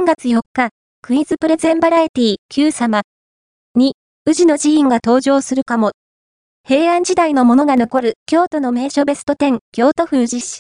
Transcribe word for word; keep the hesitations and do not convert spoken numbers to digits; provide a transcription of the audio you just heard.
さんがつよっか、クイズプレゼンバラエティ Q 様に、宇治の寺院が登場するかも。平安時代のものが残る京都の名所ベストじゅう、京都府宇治市。